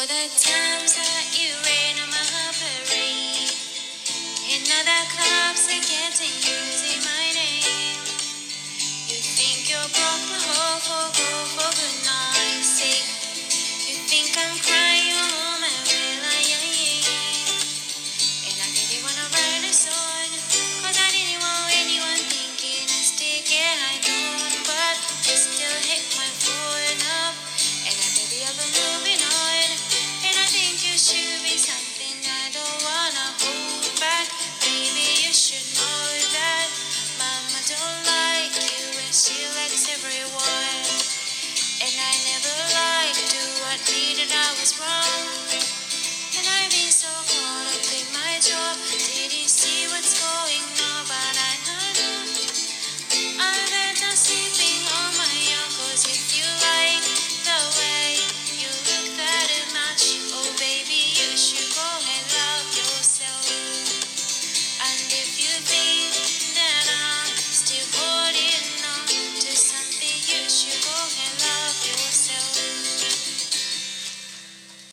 the times that you rain on my parade, and other clubs are getting using my name. You think you broke my heart for good night's sake. You think I'm crying all my well, and I didn't wanna write a song, 'cause I didn't want anyone thinking I still get high on, but it still hit my phone up, and I baby I've been moving on, and I think you should be something I don't wanna hold back. Baby, you should know that Mama don't like you and she likes everyone, and I never liked to admit that I was wrong.